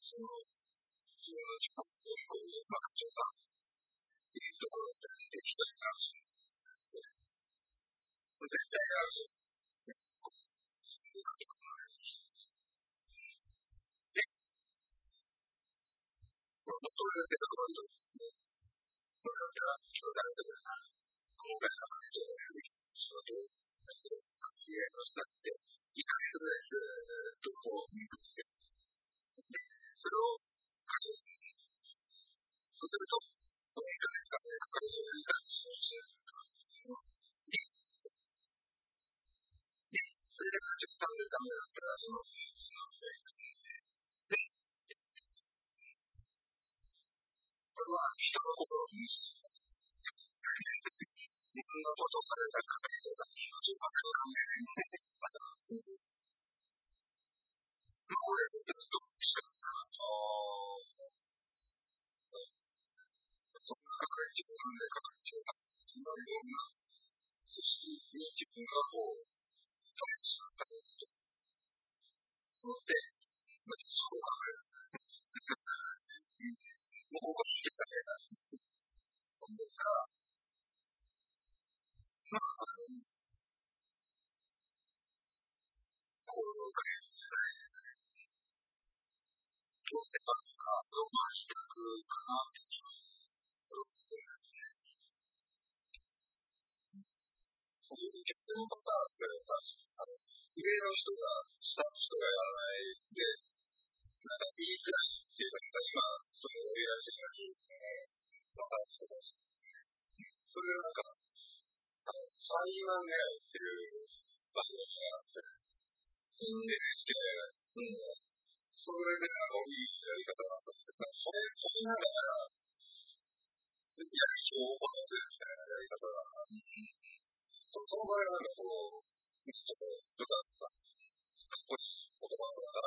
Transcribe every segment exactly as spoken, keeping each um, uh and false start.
その、自分の近くにこう、まあ、調査っていうところでして一人楽しむんですけど、絶対あるし、そういうこともあるし、で、まあ、元々ですけど、この人ですね、これは、兄弟するな、今回の話をやる仕事を、そういう関係をしたって、いっかげつぐらいずっとこう、見るんですよ。で、それを、活動するんです。そうすると、このいっかげつかんで、彼女をいい感じにしてるので、で、それで活動されるためだったら、その、その、で、これは人の心を無視する。自分のことされた方にさんにんの自覚を考えないので、また、これ、ずっとしかないと、そんなかかり調査でかかり調査するような、そして自分がこう、ストレスを感じて、そので、まずそう考える。もうここに来たね、と思うから、まあ、あの、構造化じゃないですね。どうせかとか、どうまあ、比較かなっていうことをするので、そういう結論とか、それから、あの、上の人が、下の人がやらないで、なんかいいくらいっていうか、今、その上らしいがいいですね。わかる人たち。それがなんか、あの、さんまん狙いっていう番組があって、エヌエイチケー、うん、それでなんかいいやり方があったんですけど、それ、それながら、やり情報をするみたいなやり方があって、その場合はなんかこう、ちょっと、部下さん、かっこいい言葉だから、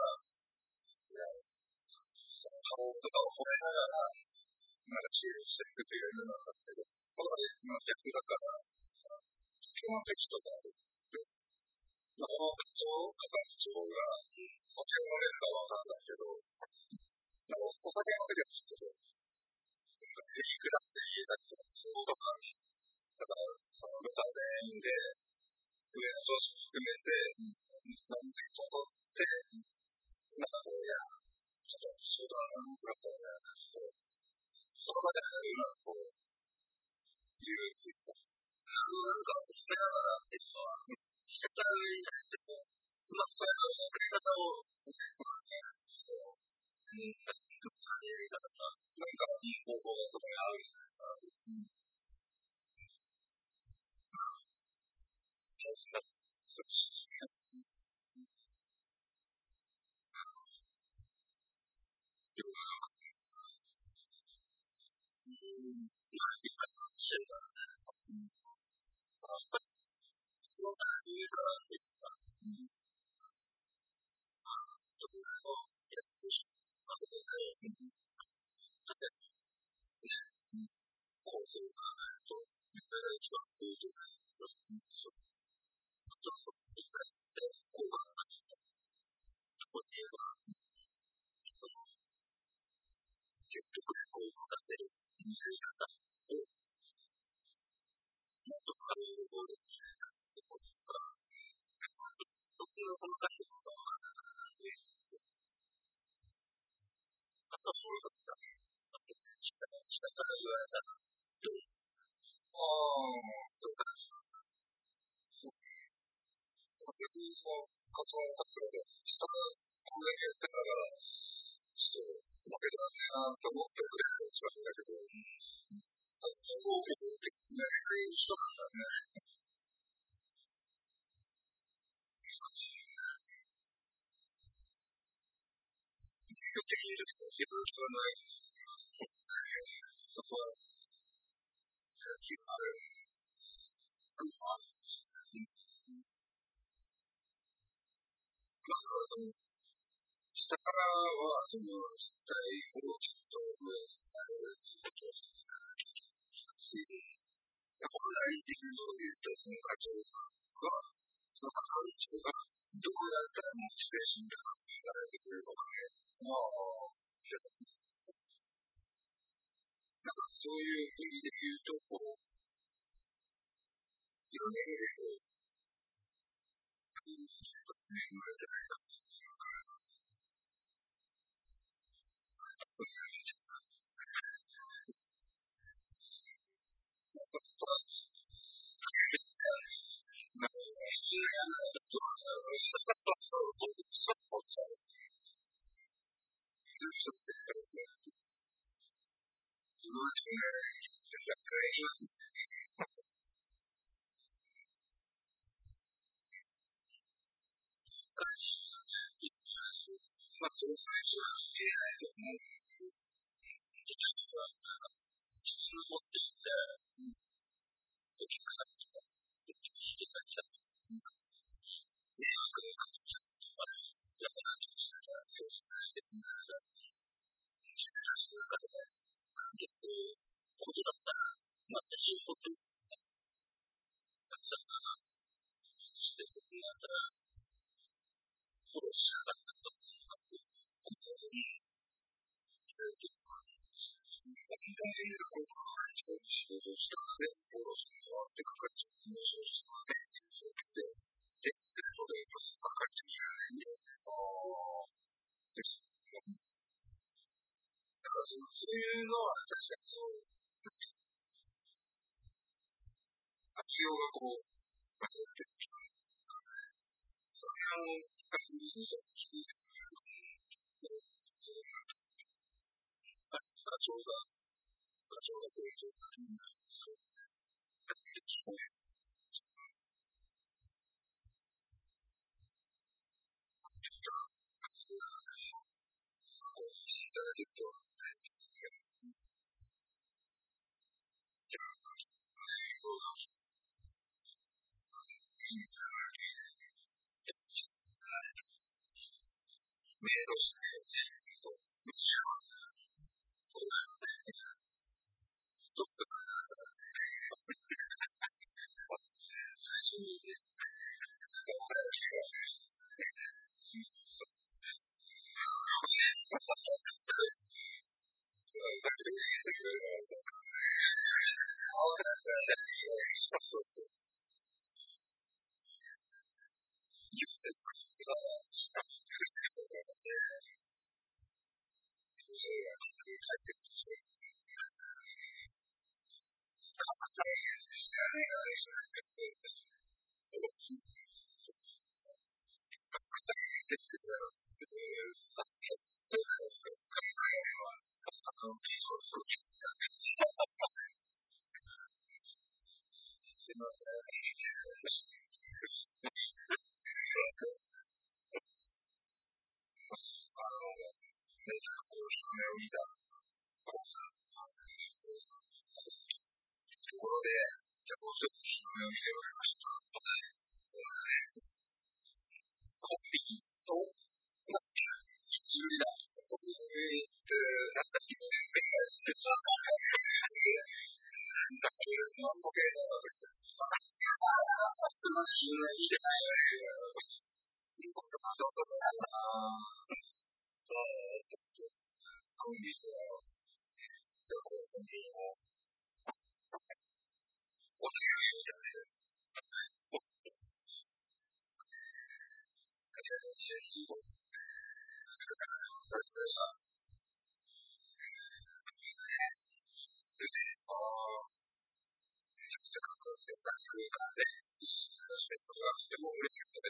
その顔とかを褒めながら、なんか支援していくというようなのなんですけど、これはね、まあ、逆だから、基本的とかある。まあ、この課長、係長が、お酒を飲めるかはわかんないけど、なんかお酒飲めるんですけど、なんかヘリクラスで言えたりとか、そうとか、だから、その部下全員で、上の上司含めて、何千個取って、なんかこう、いや、ちょっと相談をくださいみたいな話を、その場で今、こう、言うっていうか、なんか、褒めながらっていうのは、下から上に対しても、まあ、これのやり方を、ね、このね、そう、うん、それやり方が、なんかいい方法がそこにあるんじゃないかな。うん。そうですね。よくわかんないですか。うん。まあ、いっぱい話してるからね。うん。まあ、やっぱり、そのタイミングからっていうか、うん。まあ、ちょっとその、やつし、まあ、そこで、うん。だって、ね、うん。こうするかないと、それが一番いいと思うんですよ。あとはその、一回って、効果がないと。ここで言えば、その、積極力を持たせるやり方を、もっと軽い方できないかってことが、そこの細かいことは、あとはそういうことだね。あと、下下から言われたら、どうああ、どう感じますか。そう。逆にその、発音活動で、下からこれやってたら、ちょっと、負けたらね、と思ってくれるのが一番いいんだけど、すごくやりたい人なんだね。よく言えるけど、自分はない。そこは、気がある。すごいある。まあ、その、下からは、その、実態をちょっと上に伝えるっていうことをし、本来的にそういうと、その課長さんが、その係長が、どうやったらモチベーション高くなられてくれるのかね。まあ、 そういう意味で言うと、こう、いろんな意味でこう、いいことね、生まれてないかもしれないから、そういう意味で、なんかストライクして、なんか、いや、ちょっと、そうそうそう、ずっとしてたので、そのうちね、若干言いますね。まあ、それは言えないと思う。ちょっとは、自分を持っていて、時間が来た。で、先だと、迷惑がかかっちゃうとか、やっぱりそうしないで、自分たちの中で完結することだったら、まあ、できることをたくさんして、そこまた、フォローしなかったと思うのかっていうことに、ずっと、本当にこう、仕事をしたらね、フォローするのはってかかっちゃう。もうそうしませんっていう状況で、設置するので、かかっちゃいけないんで、ああ、です。だからその、そういうのは確かにそう、活用がこう、間違ってる気がするからね。それはあの、確認者に聞いてくれると、課長が、課長がこういう状態になるんですよ。初めて聞こえる。活用が、こう、していただけると、ですけど、じゃあ、そうだ、次につながるといいですね。瞑想して、そう、後ろ、こう、ストップが、最初に、こう、早く気がする。だけど、だけど、そうそう。優先が、苦しいところで、それが書いてるとして、知らないが、それが、接するだろう。そうそう。考えは、あの、そうそう。すいません。あの、めちゃくちゃ夢を見た講座ところで、じゃあもうちょっと夢を見てもらいました。コンビニと、一売りだ。コンビニって、なんか、一年目からしてた。なんか、万歩計だな。その夢見てないよね。そうそうそう。コンビニは、じゃあコンビニを、お願いみたいな。それぞれさ、ああ、めちゃくちゃかっこよくて、バスがね、一緒に話してることがとても嬉しかったです。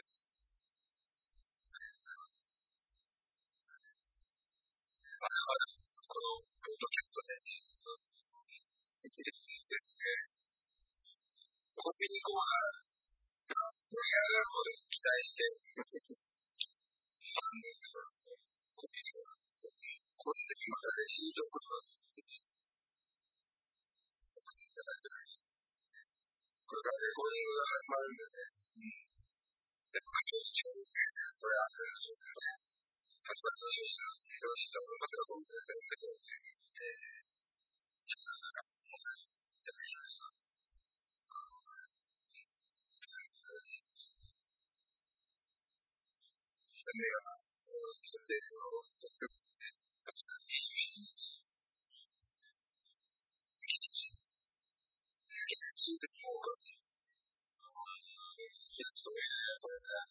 まだまだ、この、ポッドキャストで、ですね、コンビニコーナー、盛り上がる方で期待して、あの、コンビニコーナー、これでまたレシートをことがいただいております。これからレコーディングが始まるんでね、うん。で、環境に近いですね。これ、あれですよね。始まったら、忙しいと思いますが、僕ですね、えー、ちょっとなんか、もう、いただきました。それが、それで、その、すぐですね、にじゅうしちにち、 しいですもん。いや、それ、これね、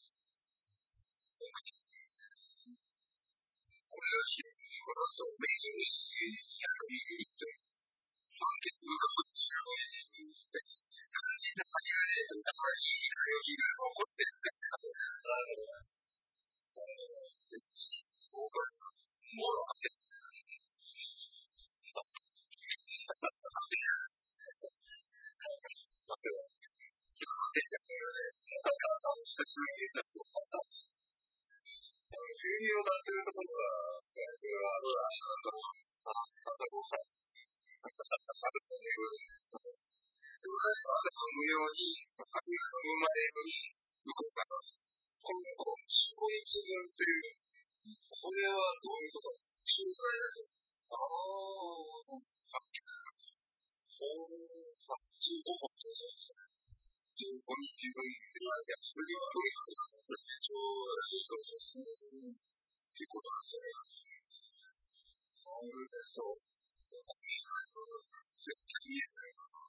これが非常にこの後、メインにして、ひゃくミリリットル、判決がこっちのメインにして、感じた先で、やっぱりいい空気が残ってるんですよ。そうか、もう、久しぶりになって、牛乳を出せるところは、これは、ほら、あの、あと、あと、無料に、あるいは生まれるに、向こうから、この、そういう自分という、これはどういうこと仲裁だと。ああ、そう、あ、中国語ってそうですね。中国に自分って言われて、それは、そうそうそうそう。っていうことなんじゃないかな。そうです、そう。絶対言えないかな。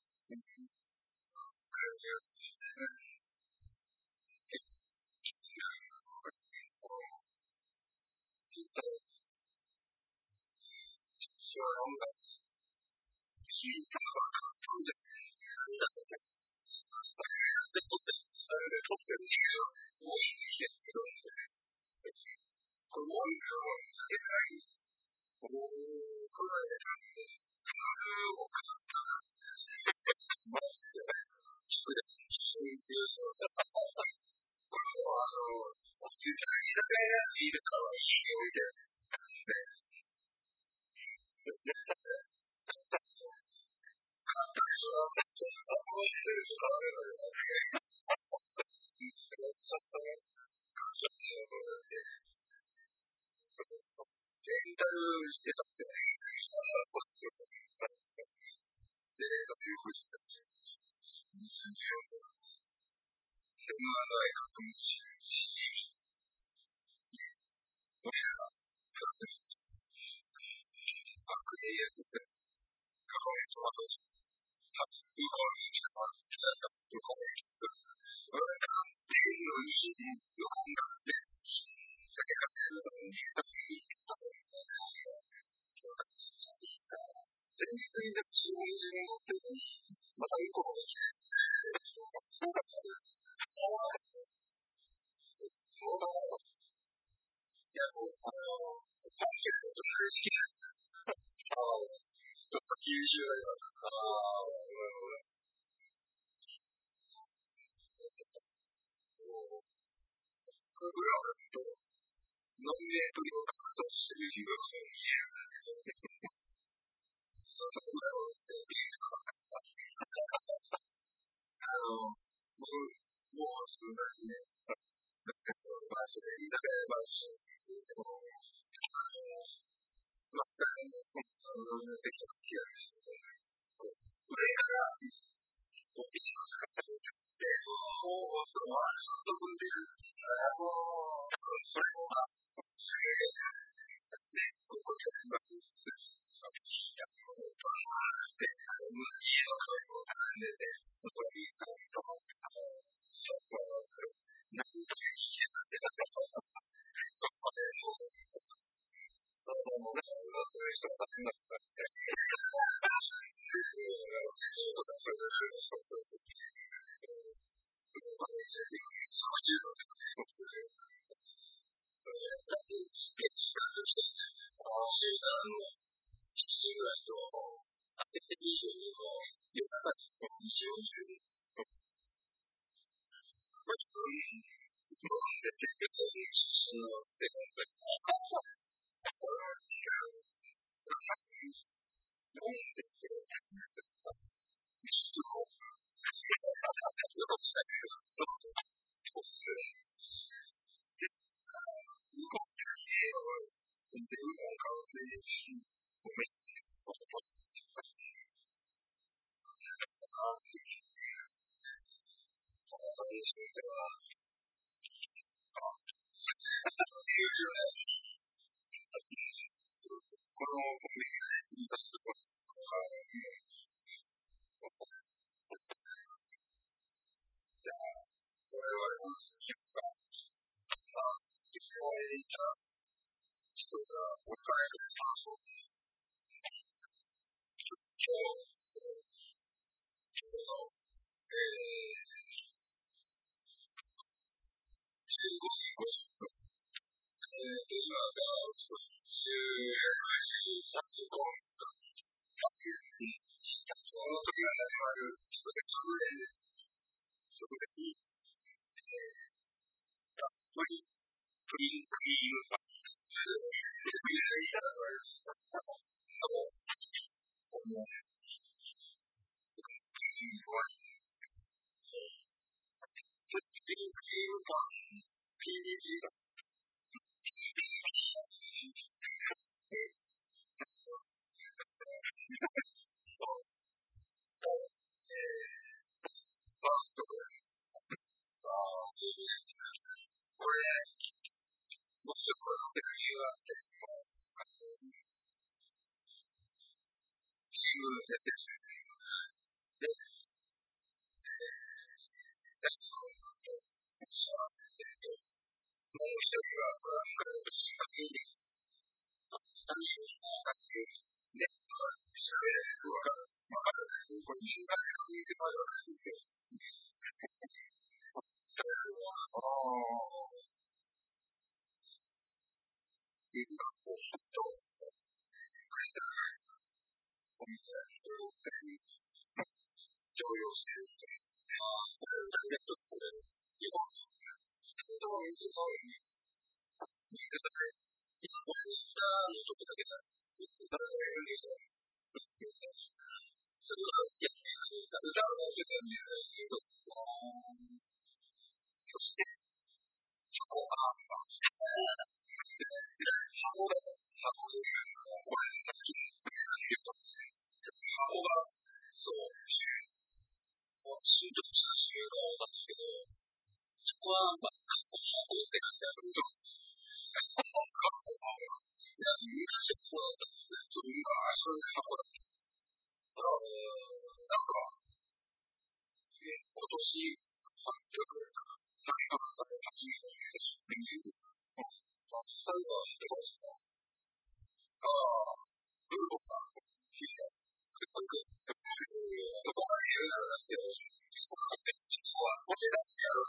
人が置かれる場所今日今日のえーじゅうごじごじゅっぷんえー今がじゅうさんじごふんこの時が始まる直前です直前にたっぷりプリンクリームパンクリームいただきましたそうこのすごいプリンクリームパン ピーディージー がファーストですあこれもちろんこれの理由があって新聞の設定してで、えー、その幸せともう一人はこれは新聞に何をしたっていうね、調べられるわかるわかるこれ民間で確認してもらうわけですけどそれはああいいかこうふっとお店人を常用しているというこれをダイレクトこれ日本の人の水の水がね今これ下のとこだけだ水がね水がそれがやっている裏の部分にそうそしてチョコが箱だ箱でこれさっき言ったんですけど箱がそう新宿写真のなんですけどそこはまあ箱って書いてあるんですよ箱いや昔はそうだったんですけど昔は箱だったあのなんか今年はっぴゃくえんかな再販され始めたんですよ最後はどうですかああブルボンが聞いたそこまで言うならですけどそこまでそこはこれ出してやる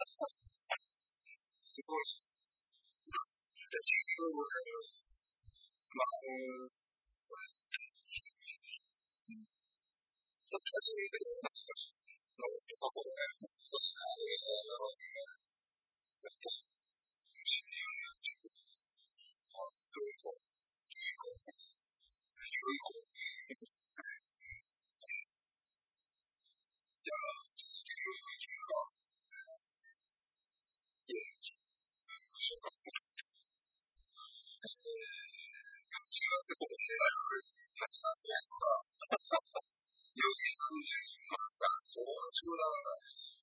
すごいで自分もまあこれちょっと初めての過去でそうですねなるほどねどういうことどういうことじゃあ続けていきますかいやはちがつごろになるはちがつごろかよじさんじゅうにふんが早朝だから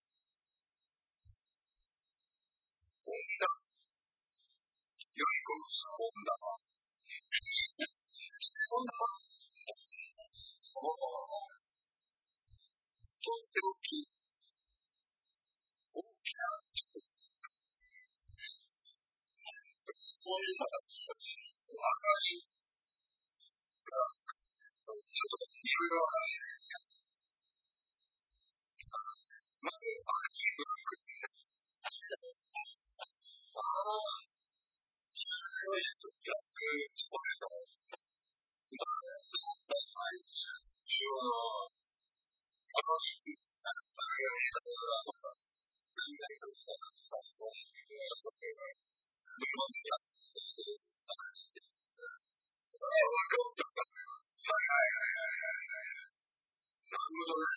温暖良い子の温暖温暖そうとっておき大きなそういうのが若いがちょっといろいろわからないですよまず赤いブロックああ白いと逆スポットまあはい一応あのいいあのやり方がとか何々とかそういうことで日本でやってるああわかったはいはいはいはいはいなるほどね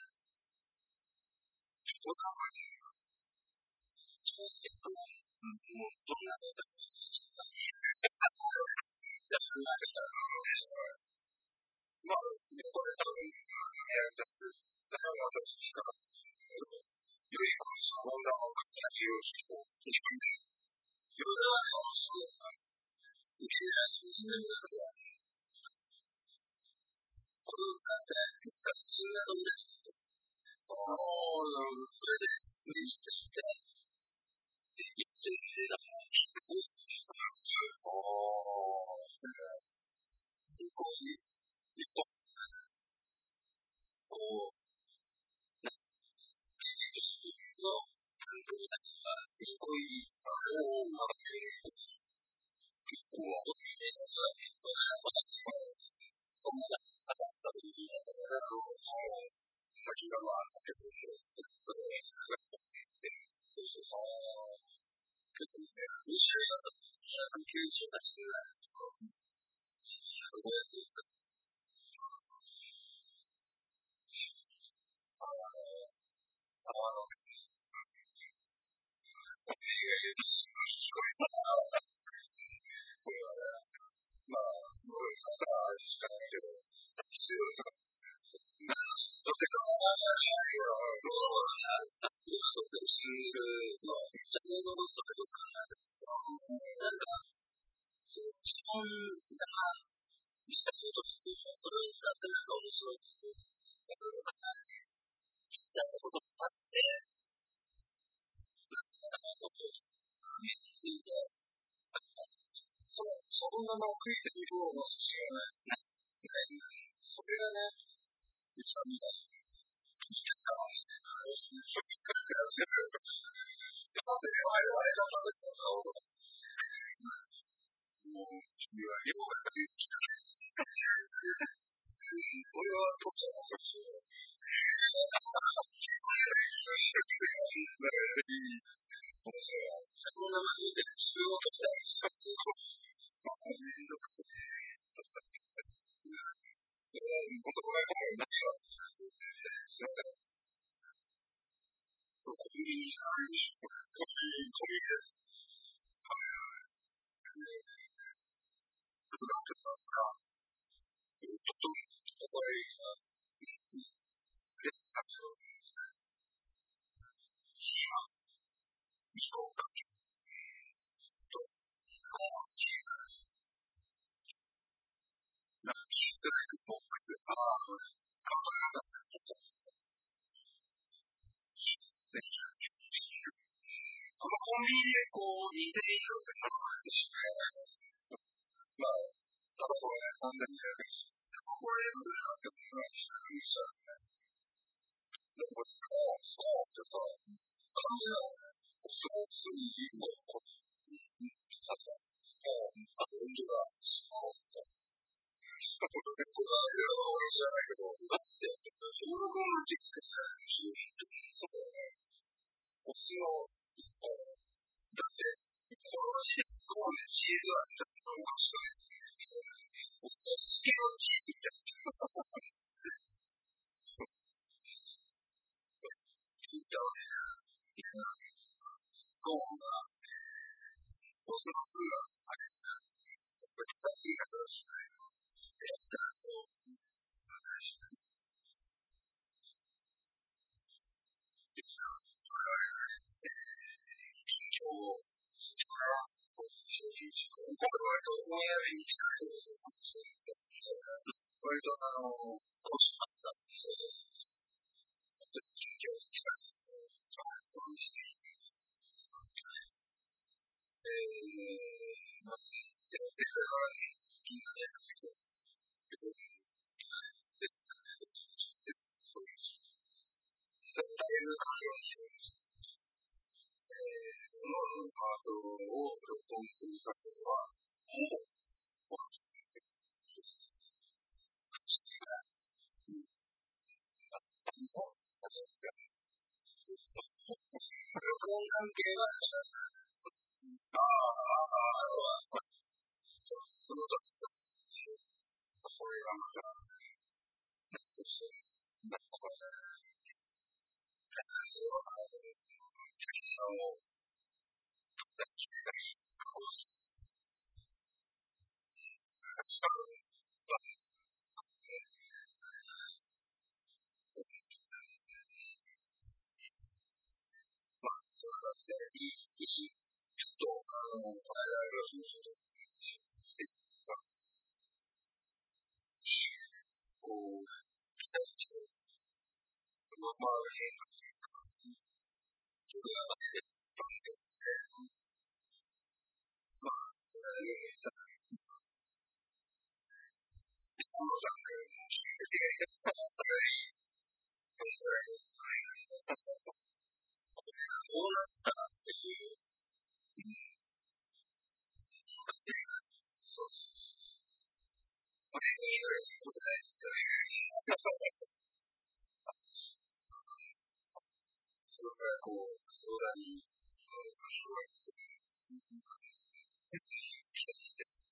おたまにそうしていくもうどんなのだまあ、これ多分、やりたくて、だから私しか良い子の温暖を書き上げようと、一番で、ヨダのそうな、受け入れられるのでは、これを使って、昔進んだとです。ああ、それで、無理していて、一緒に出たないんじゃないかな。それからこう、相談に、あの、障害する。別に期待してる。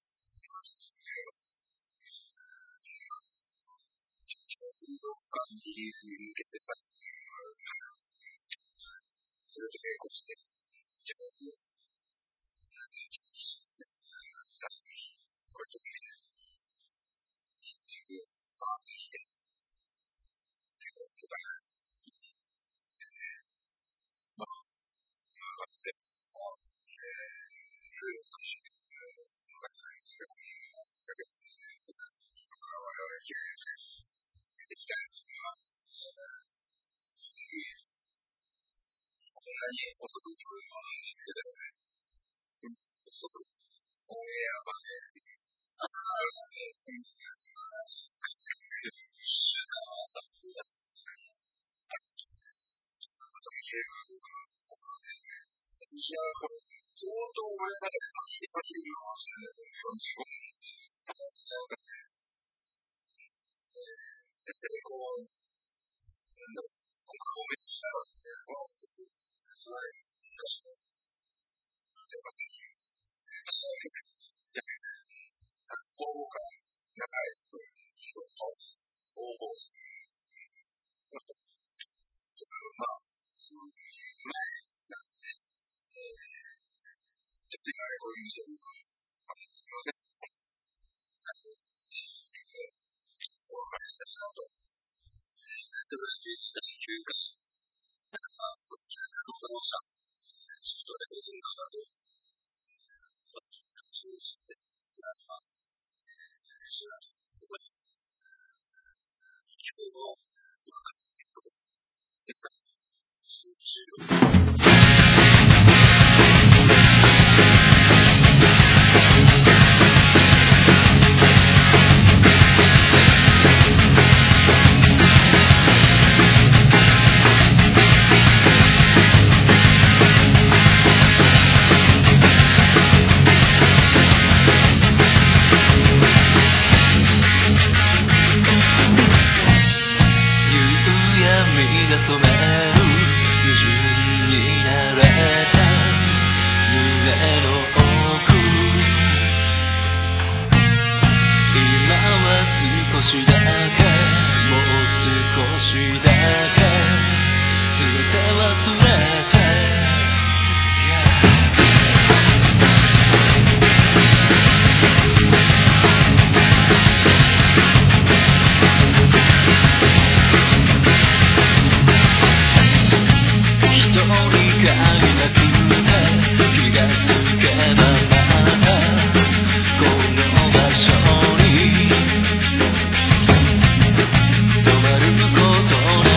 水族館リリースに向けて作品がある。それと並行して、じゃあ、作品、これちょっといいです。新宿、パーツヒデ、結構つかない。まあ、まあ、かつて、まあ、えー、ルールさん種類、まあ、それこそ、先ほどですね、だから我々きゅうじゅうできたいと思います。こんなに遅く聞こえるのは初めてだよね。遅く、オンエアまで、ああ、そう、うん、すばらしい。いや、これ、相当俺まで先で先に回してるよんじゅうごふん。ですけど、こう、なんだろう、この消滅したらですね、この、すごい、昔の、やっぱり、応募が長い人と応募する。まあ、そういう前なんで、えー、ちょっと今こういう印象を、あの、すみません。最後、お別れしたいなと。素晴らしい時間というか、なんかさ、お付き合いのことをした。ちょっとレベルが上がって、そうして、なんか、嬉しいなと思います。今日も、まあ、絶対、集中。止まること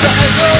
最後